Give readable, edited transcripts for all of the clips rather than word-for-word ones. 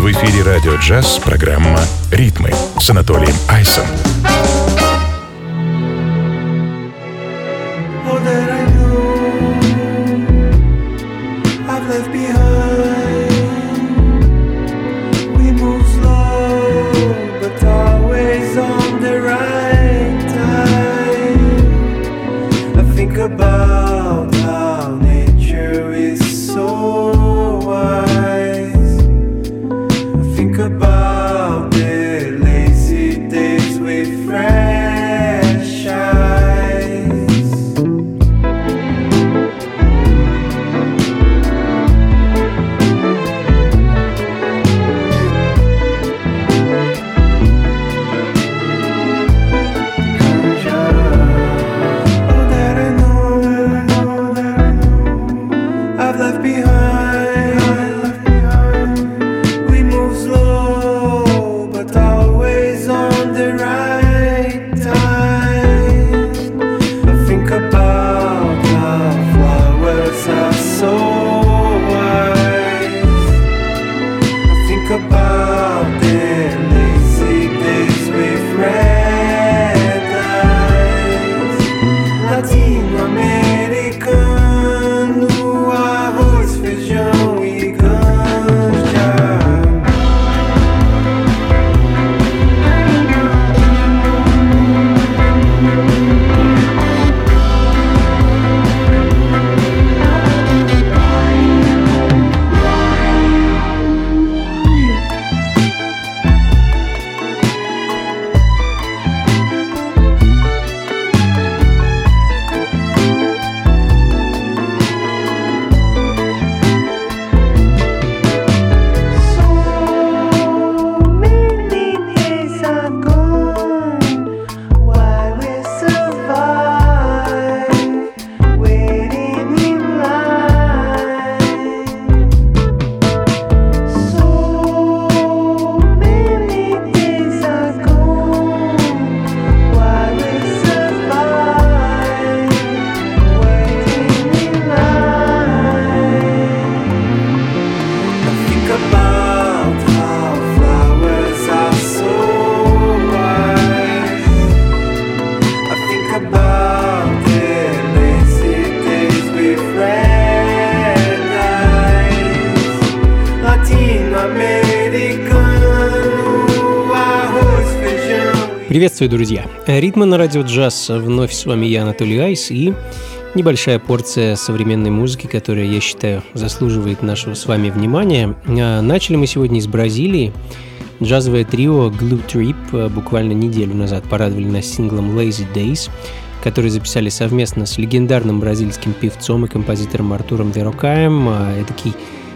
В эфире «Радио Джаз» программа «Ритмы» с Анатолием Айсом. Приветствую, друзья! Ритмы на радио джаз. Вновь с вами я, Анатолий Айс, и небольшая порция современной музыки, которая, я считаю, заслуживает нашего с вами внимания. Начали мы сегодня из Бразилии. Джазовое трио Glue Trip буквально неделю назад порадовали нас синглом Lazy Days, который записали совместно с легендарным бразильским певцом и композитором Артуром Верокаем. Эдакий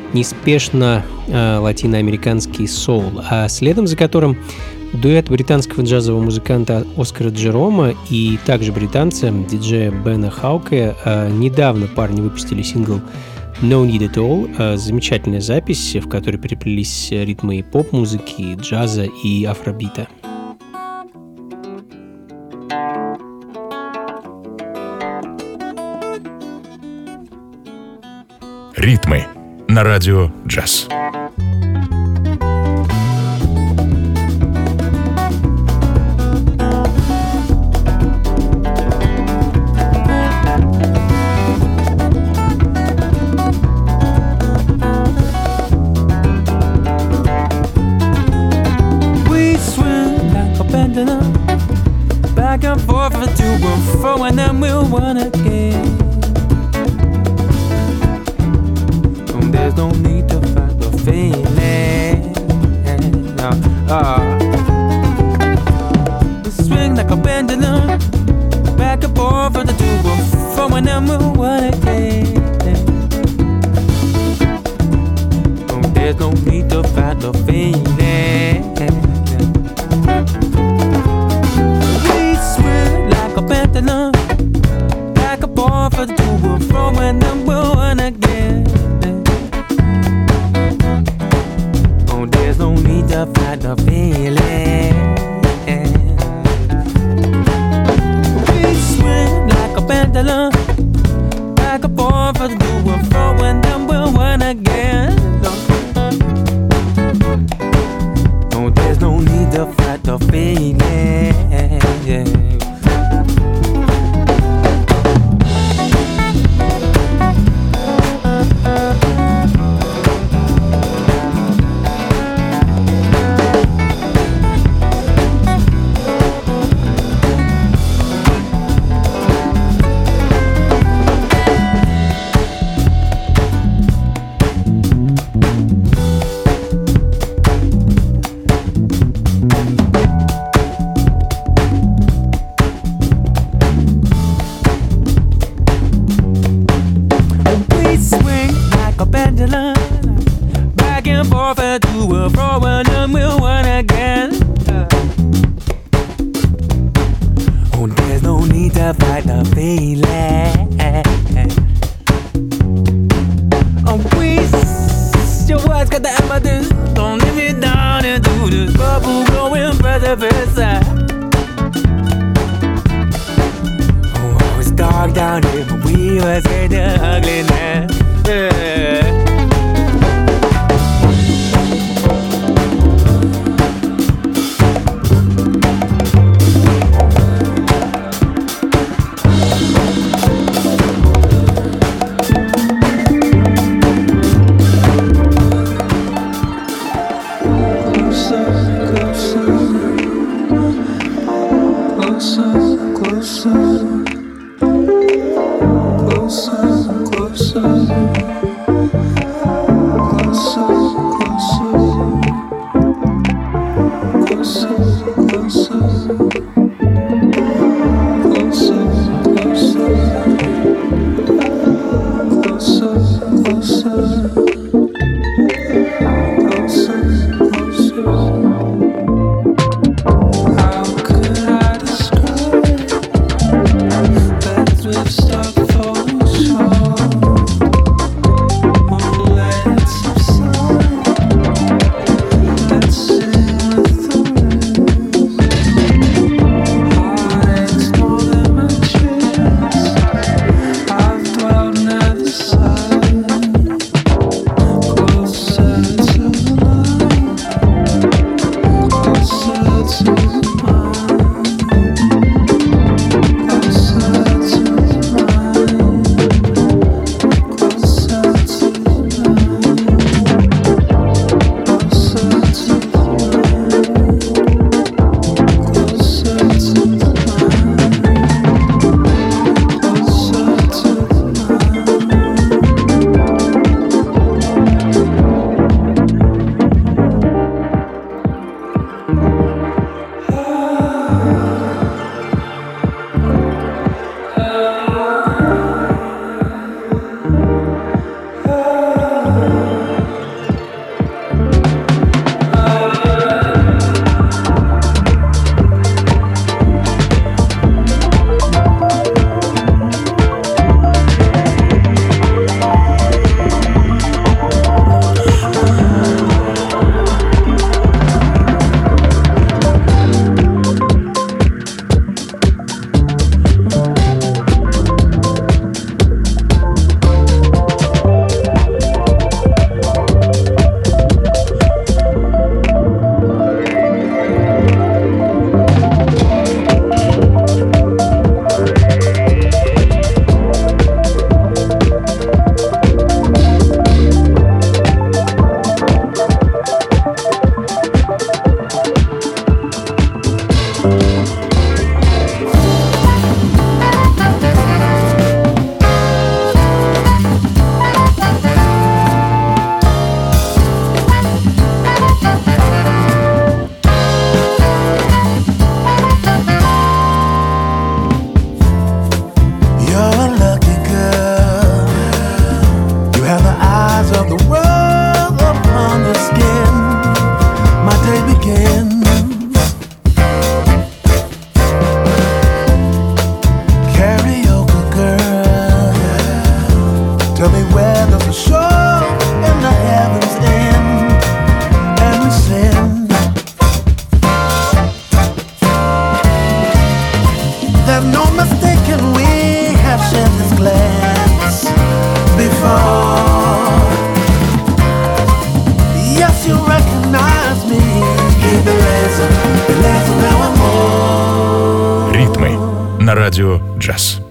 неспешно латиноамериканский соул, а следом за которым дуэт британского джазового музыканта Оскара Джерома и также британца, диджея Бена Хауке. Недавно парни выпустили сингл No Need At All. Замечательная запись, в которой переплелись ритмы и поп-музыки, и джаза и афробита. Ритмы на радио джаз. Back and forth and to and fro, and then we'll run again. There's no need to fight the feeling. We swing like a pendulum, back and forth and to and fro, and then we'll run again. There's no need to fight the feeling. Pendulum, back and forth and to and fro, and then we'll run again. Oh, there's no need to fight the feeling. We swing like a pendulum, back and forth and to and fro, and then we'll run again. and forth and to and fro, and then we'll win again. Oh, there's no need to fight the feeling. Oh, please, your words got the evidence. Don't leave me down into this bubble going precipice. Oh, it's dark down here, but we must hate the ugliness. Yeah. На радио «Джаз».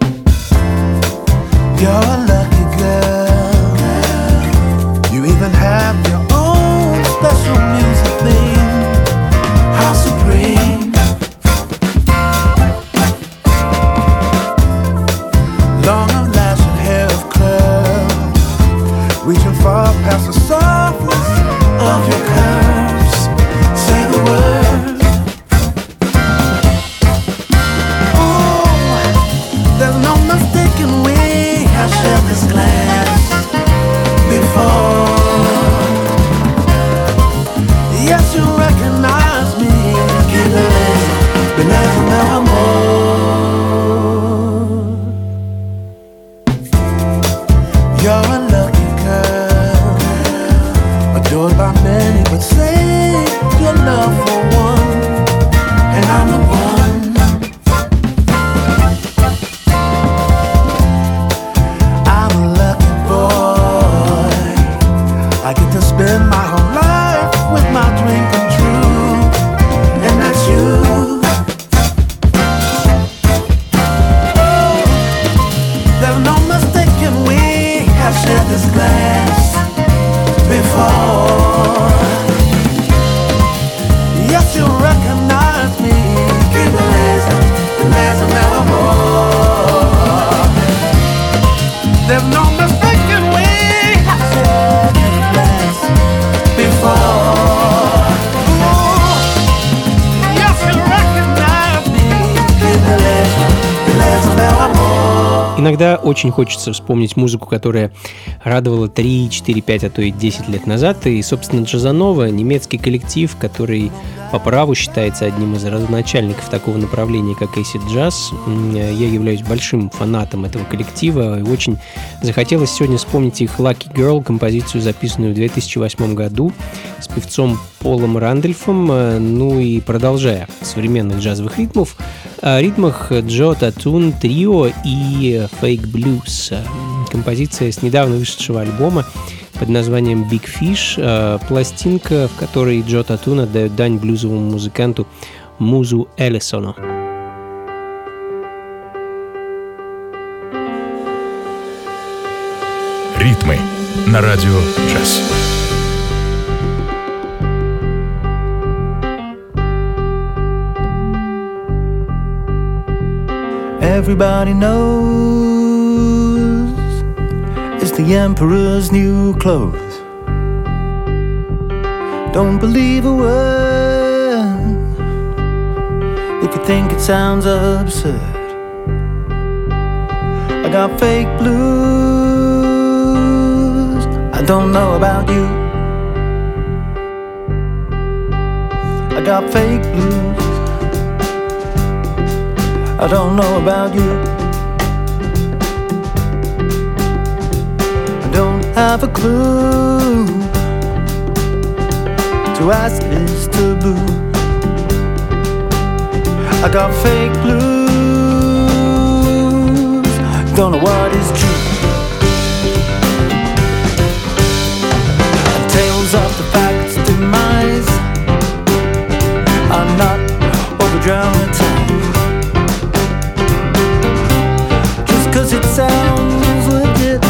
adored by many, but save your love for one, and I'm the one. I'm a lucky boy. I get to spend my whole life with my dream come true, and that's you. There's no mistaking we have shared this glass before. Yes, you recognize me. Keep it lazing evermore. There's no mistaking we have shared this glass before. Ooh, yes, you recognize me. Keep it lazing evermore. Иногда очень хочется вспомнить музыку, которая радовала 3, 4, 5, а то и 10 лет назад. И, собственно, Джазанова, немецкий коллектив, который по праву считается одним из родоначальников такого направления, как acid jazz. Я являюсь большим фанатом этого коллектива. И очень захотелось сегодня вспомнить их Lucky Girl, композицию, записанную в 2008 году с певцом Полом Рандольфом. Ну и продолжая современных джазовых ритмах Джо Татун Трио и Fake Blues. Композиция с недавно вышедшего альбома под названием Big Fish, пластинка, в которой Джо Татун отдает дань блюзовому музыканту Музу Эллисону. Ритмы на радио джаз. Everybody knows it's the emperor's new clothes. Don't believe a word if you think it sounds absurd. I got fake blues. I don't know about you. I got fake blues. I don't know about you. I don't have a clue. To ask is taboo. I got fake blues. Don't know what is true. And tales of the fact's demise are not over-dramatized. Cause it sounds legit.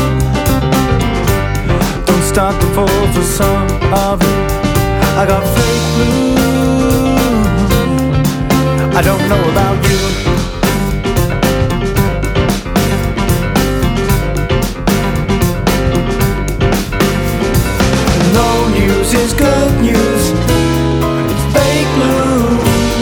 Don't start to fall for some of it. I got fake blues. I don't know about you. No news is good news. It's fake blues.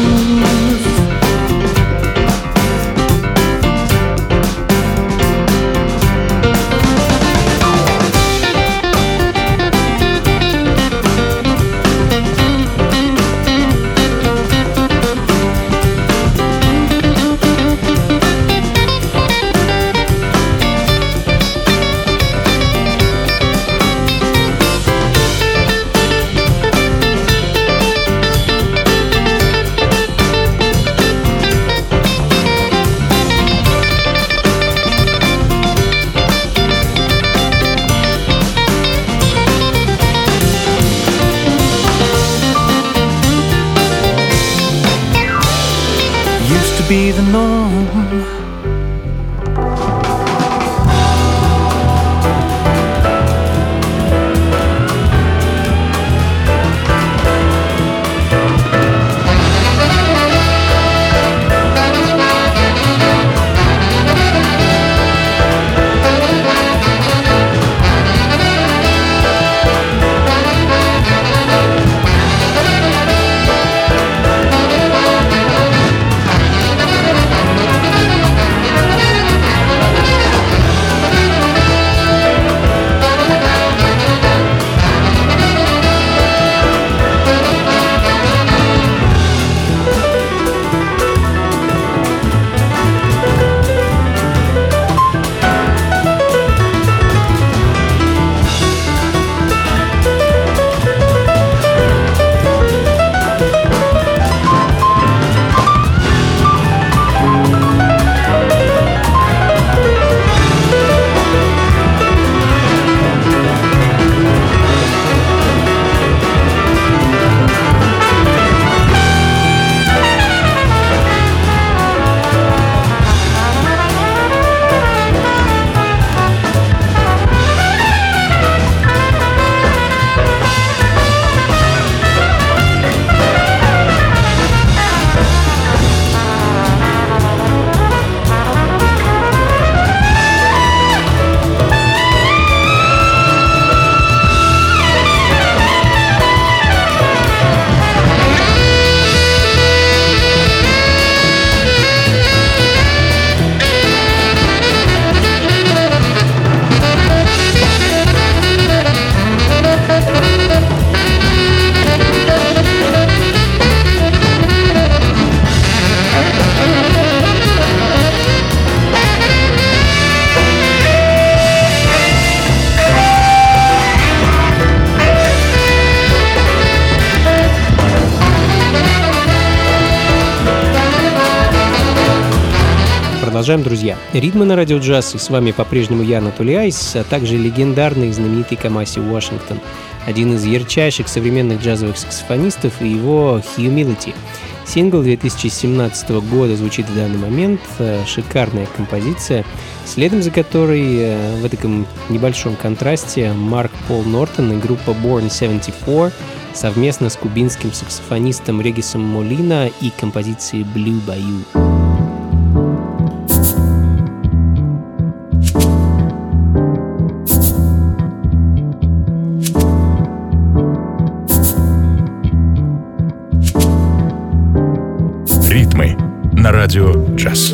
Be the norm. Продолжаем, друзья. Ритмы на радио джаз, и с вами по-прежнему я, Анатолий Айс, а также легендарный и знаменитый Камаси Уошингтон, один из ярчайших современных джазовых саксофонистов, и его «Humility». Сингл 2017 года звучит в данный момент, шикарная композиция, следом за которой в таком небольшом контрасте Марк Пол Нортон и группа Born 74 совместно с кубинским саксофонистом Регисом Молина и композицией Blue Bayou. Ритмы на радио джаз.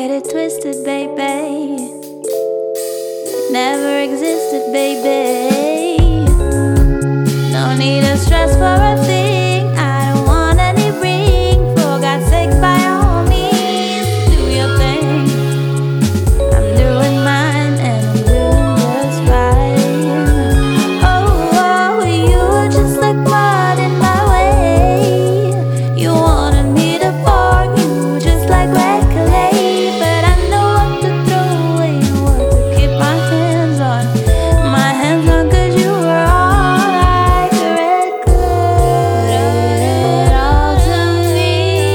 get it twisted, baby. It never existed, baby. No need to stress for a thing. I don't want any ring. For God's sake, by all means, do your thing. I'm doing mine and I'm doing just fine. Oh, you were just like mud in my way. You wanted me to fork you just like red clay, but I know what to throw away and what to keep my hands on. My hands on, 'cause you were all like red clay. Put it all to me.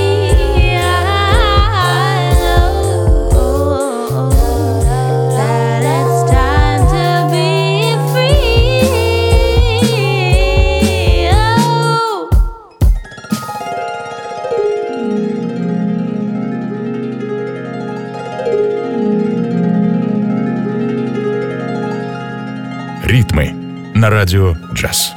I know that it's time to be free. Oh. Ритмы на радио «Джаз».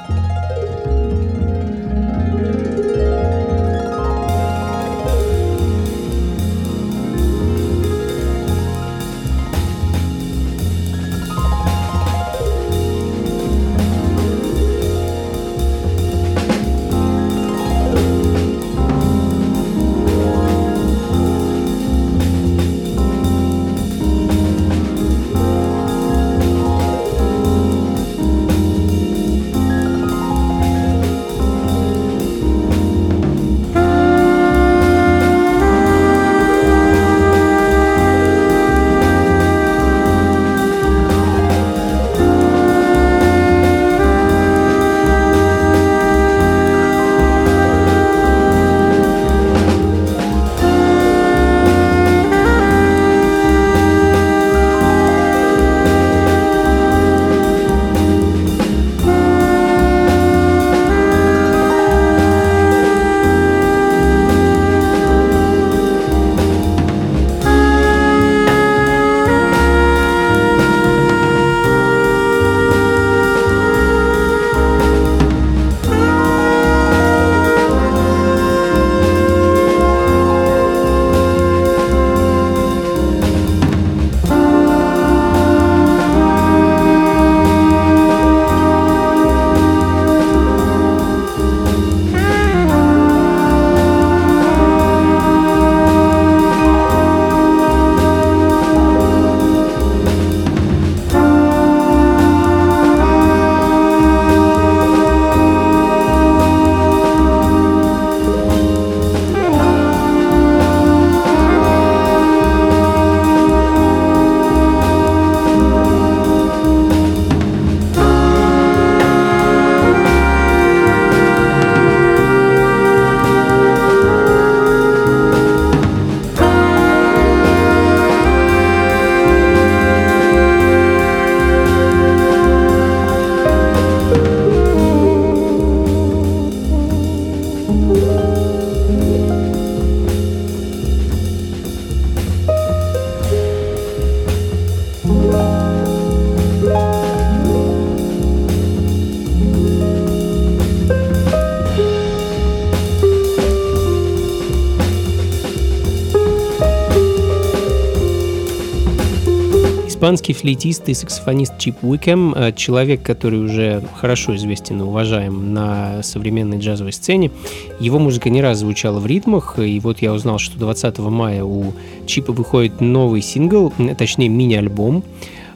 Испанский флейтист и саксофонист Чип Уикэм, человек, который уже хорошо известен и уважаем на современной джазовой сцене. Его музыка не раз звучала в ритмах, и вот я узнал, что 20 мая у Чипа выходит новый сингл, точнее мини-альбом.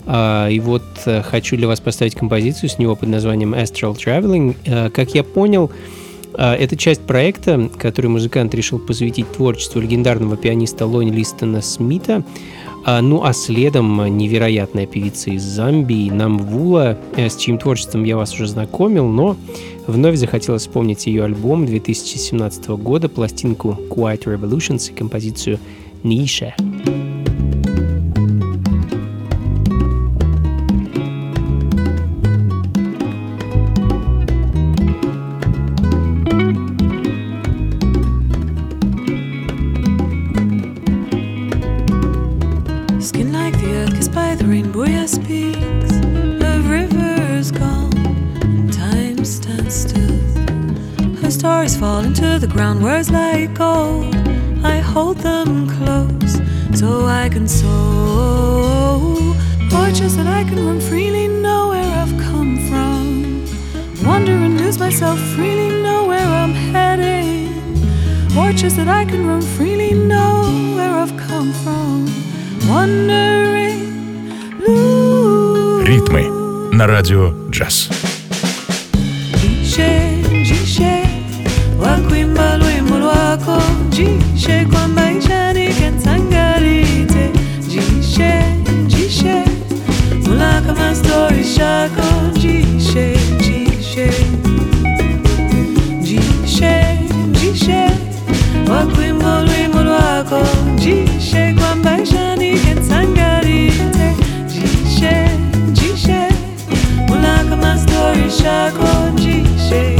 И вот хочу для вас поставить композицию с него под названием Astral Traveling. Как я понял, это часть проекта, который музыкант решил посвятить творчеству легендарного пианиста Лони Листона Смита. Ну а следом невероятная певица из Замбии Намвула, с чьим творчеством я вас уже знакомил, но вновь захотелось вспомнить ее альбом 2017 года, пластинку Quiet Revolutions и композицию «Ниша». Stars fall into the ground, words like gold. I hold them close, so I can sow. Porches that I can run freely, know where I've come from. Wander and lose myself freely, know where I'm heading. Porches that I can run freely, know where I've come from. Wondering, Ритмы на радио джаз. Jishe, wakwimba lwimbo lwako. Jishe kwa maisha nikensangarite. Jishe, mulaka ma story shako. Jishe, wakwimba lwimbo lwako. Jishe kwa maisha nikensangarite. Jishe, mulaka ma story shako. Jishe.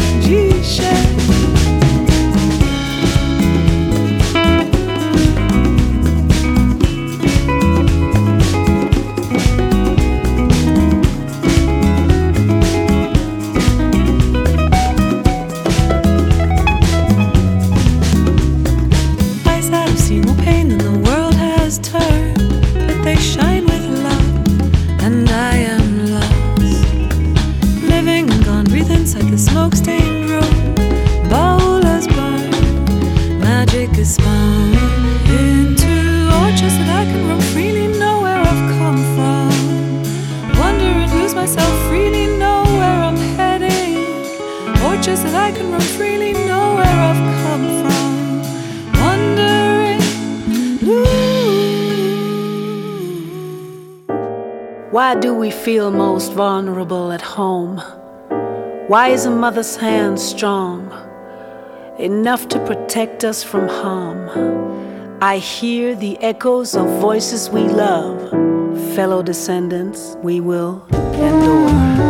Eyes that have seen more pain than the world has turned, but they shine with love, and I am lost. Living and gone, breathe inside the smoke-stained room. Bowlers burn, magic is spun into orchards that I can roam freely, know where I've come from. Wonder and lose myself freely, know where I'm heading. Orchards that I can roam freely, know where I've come from. Wondering, Why do we feel most vulnerable at home? Why is a mother's hand strong enough to protect us from harm? I hear the echoes of voices we love. Fellow descendants, we will endure.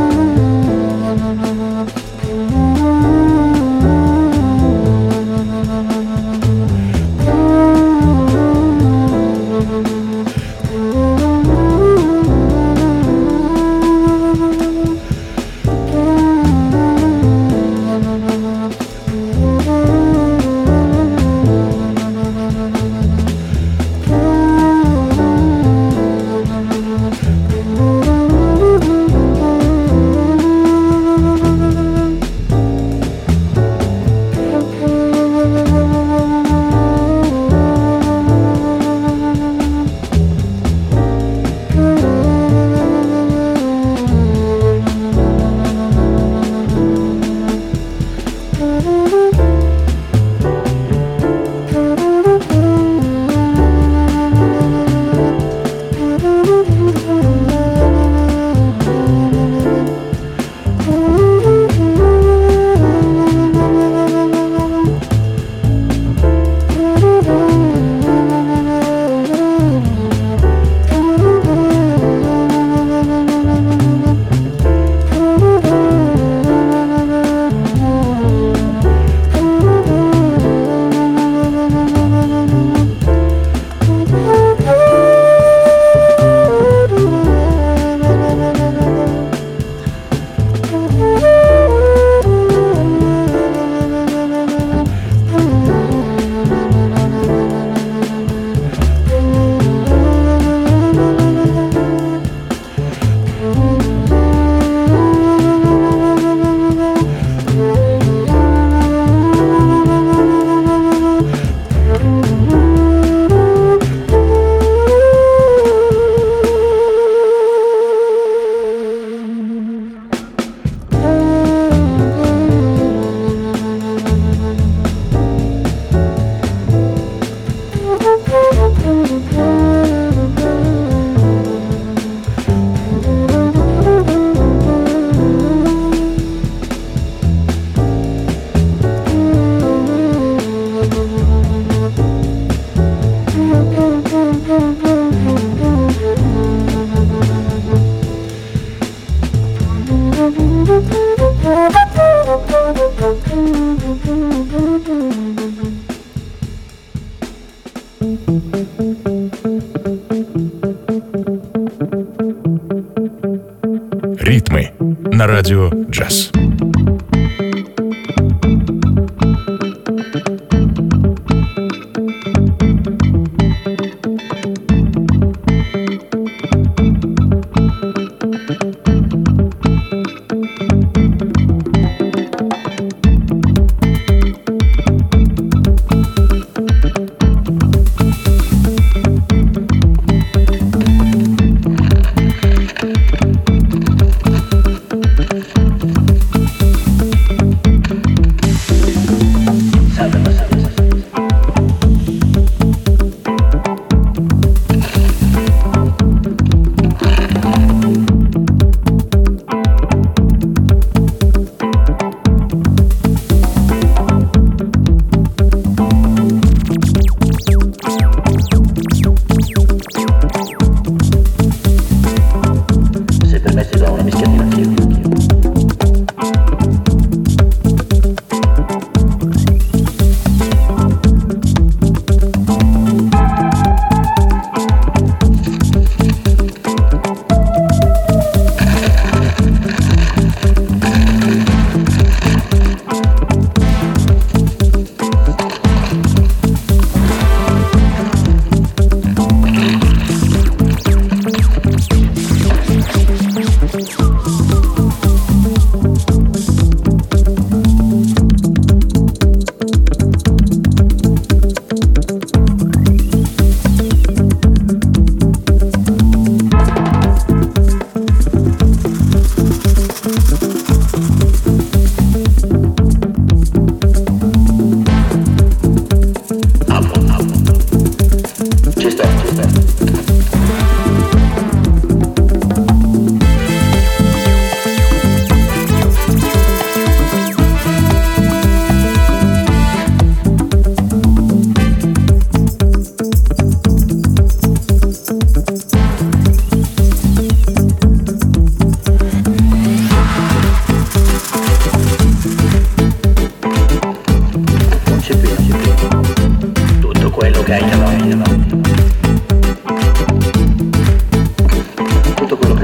Ритмы на радио джаз.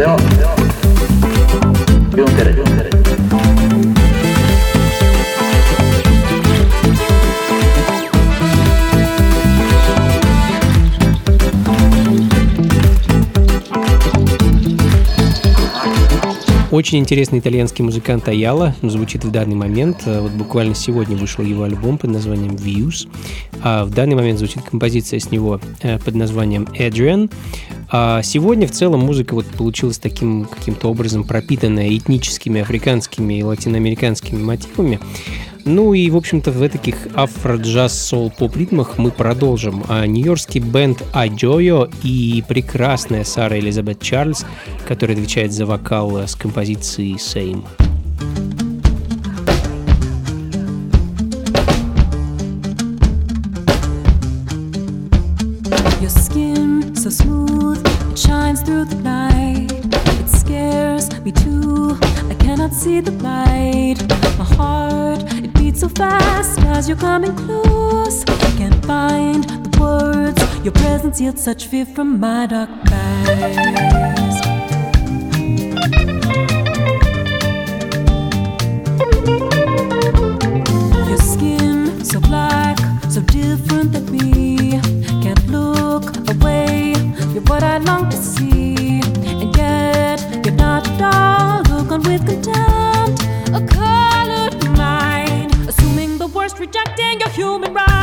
Очень интересный итальянский музыкант Аяла звучит в данный момент. Вот буквально сегодня вышел его альбом под названием Views. А в данный момент звучит композиция с него под названием Adrian. А сегодня в целом музыка вот получилась таким каким-то образом пропитанная этническими, африканскими и латиноамериканскими мотивами. Ну и, в общем-то, в таких афро-джаз-соул-поп-ритмах мы продолжим. Нью-йоркский бенд Аджойо и прекрасная Сара Элизабет Чарльз, которая отвечает за вокал с композицией Same. Your skin so smooth, it shines through the night. It scares me too, I cannot see the light. My heart, it beats so fast as you're coming close. I can't find the words, your presence yields such fear from my dark eyes. Your skin so black, so different than me. Can't look away, you're what I long to see. And yet, you're not at all, look on with contempt. A colored mind, assuming the worst, rejecting your human rights.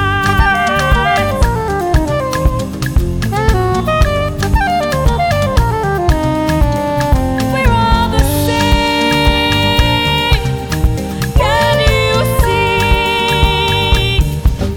We're all the same, can you see?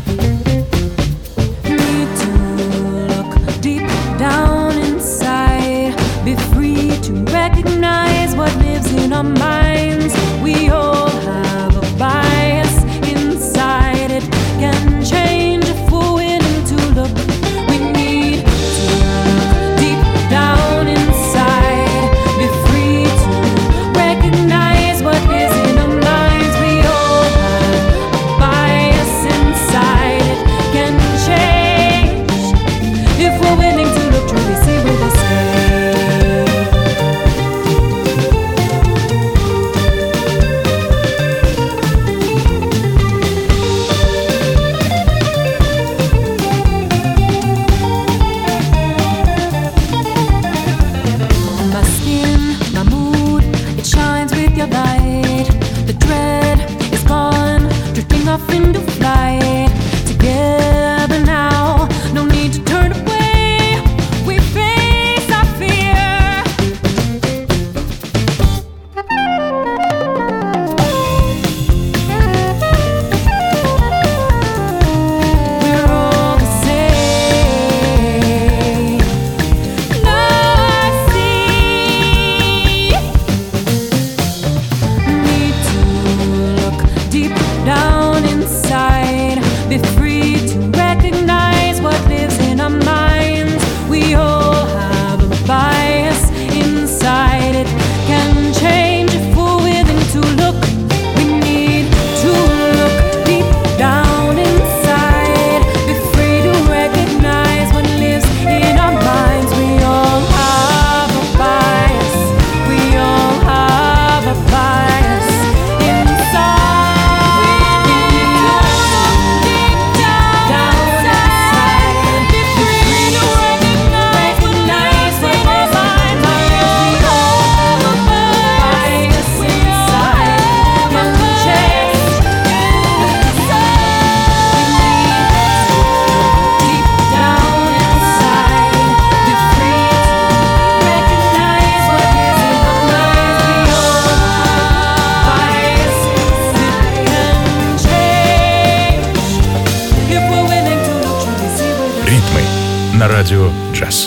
Need to look deep down inside, be free to recognize what lives in our minds. We all have a bias inside, it can change if we're willing to look. We need to look deep down inside, be free to recognize what lives in our minds. We all have a bias inside, it can change if we're willing to look, truly see where they stay. My skin, my mood, it shines with your light. The dread is gone, drifting off into flight. Together now, no need to turn away. We face our fear. We're all the same. Now I see. Need to look deep down inside, be free to recognize what lives in our minds. We all have a bias inside, it can change if we're willing to look. We need to look deep down inside, be free to recognize what lives in our minds. We all have a bias, we all have a bias inside. We need to look deep down inside, be free to recognize what lives in our minds. We all have a bias inside, can change deep down inside, be free to recognize what is in our minds. We all have bias, it can change if we're willing to look, truly see where they Ритмы на радио «Джаз».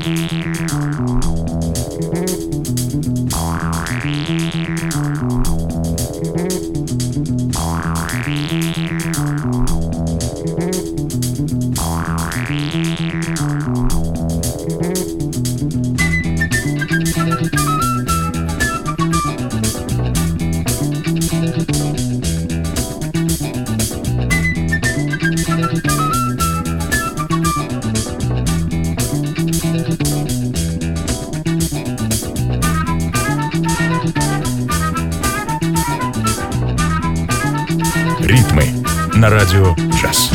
Ритмы на радио «Джаз».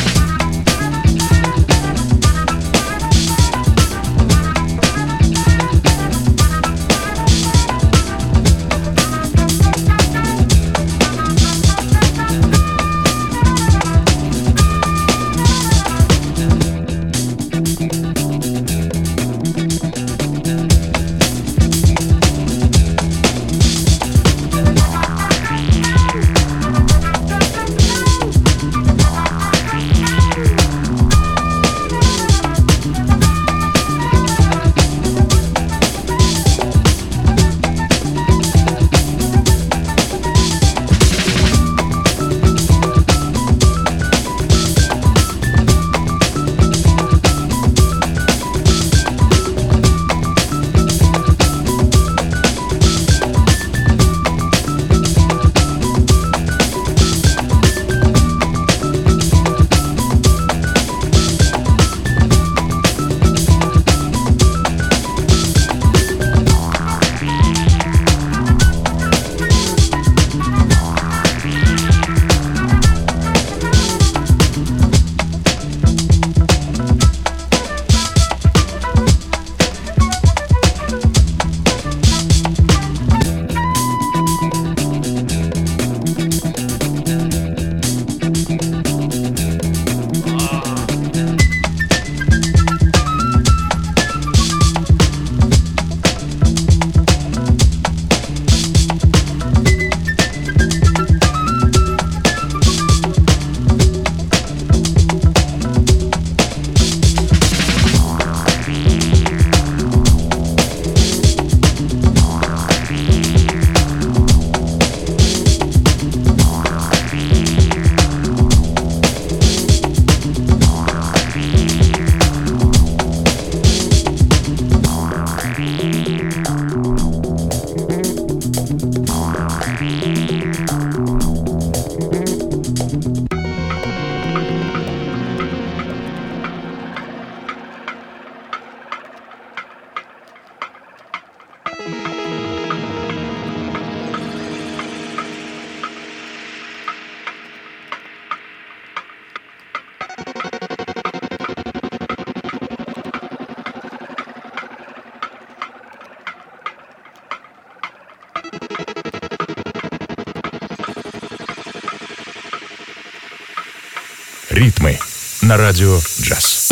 Ритмы на радио «Джаз».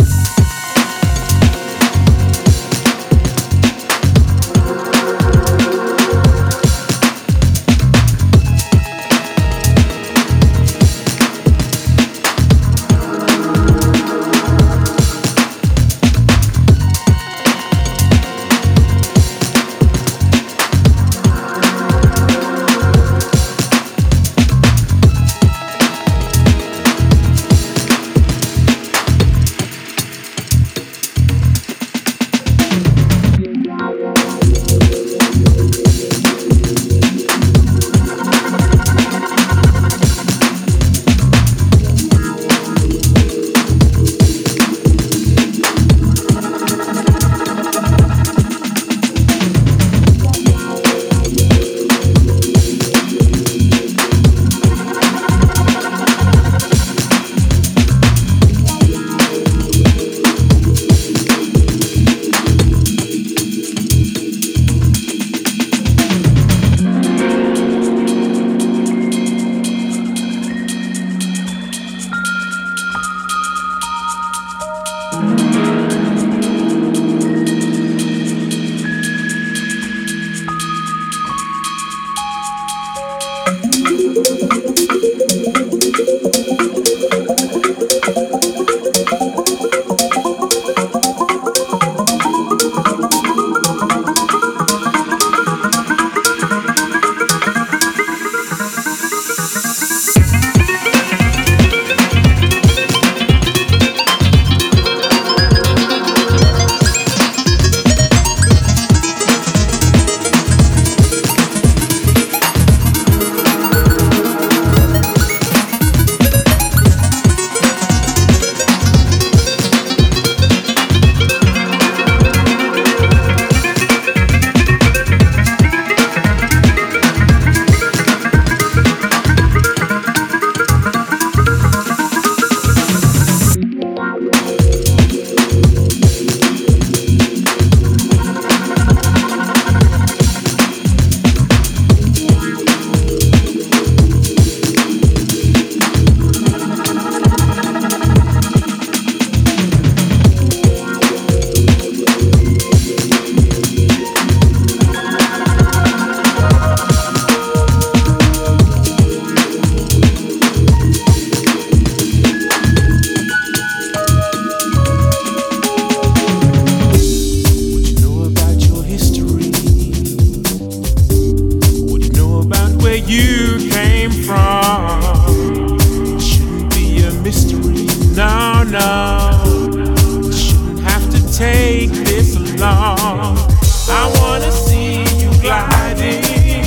this along. I wanna see you gliding.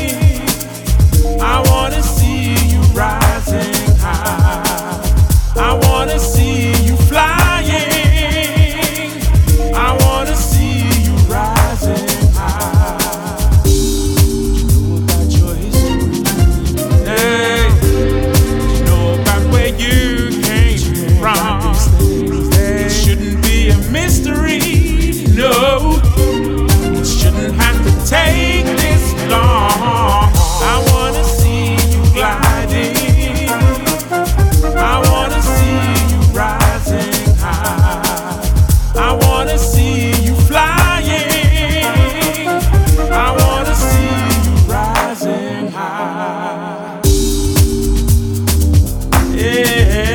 I wanna see you rising high. I wanna see you flying. I wanna see you rising high. You know about your history. Hey, you know about where you came from. It shouldn't be a mystery. No, it shouldn't have to take this long. I wanna see you gliding. I wanna see you rising high. I wanna see you flying. I wanna see you rising high. Yeah.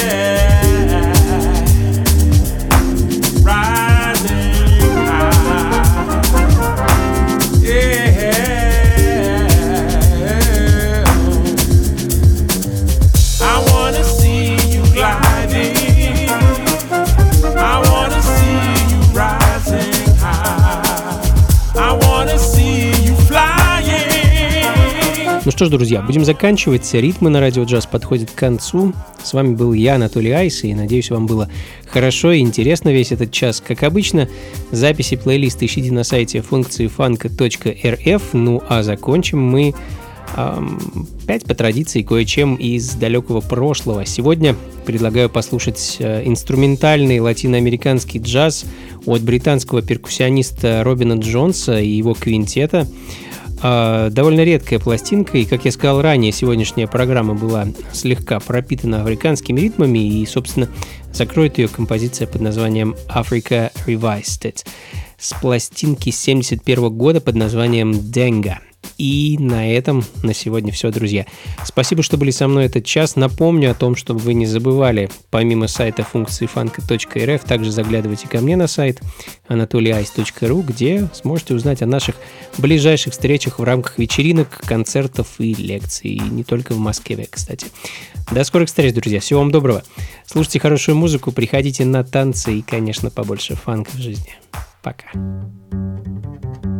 Ну что ж, друзья, будем заканчивать. Ритмы на радио джаз подходят к концу. С вами был я, Анатолий Айс, и надеюсь, вам было хорошо и интересно весь этот час. Как обычно, записи плейлиста ищите на сайте функциифанка.рф. Ну а закончим мы опять по традиции кое-чем из далекого прошлого. Сегодня предлагаю послушать инструментальный латиноамериканский джаз от британского перкуссиониста Робина Джонса и его квинтета. Довольно редкая пластинка, и, как я сказал ранее, сегодняшняя программа была слегка пропитана африканскими ритмами, и, собственно, закроет ее композиция под названием Africa Revisited с пластинки 1971 года под названием Denga. И на этом на сегодня все, друзья. Спасибо, что были со мной этот час. Напомню о том, чтобы вы не забывали, помимо сайта функциифанка.рф, также заглядывайте ко мне на сайт anatolyice.ru, где сможете узнать о наших ближайших встречах в рамках вечеринок, концертов и лекций. И не только в Москве, кстати. До скорых встреч, друзья. Всего вам доброго. Слушайте хорошую музыку, приходите на танцы и, конечно, побольше фанка в жизни. Пока.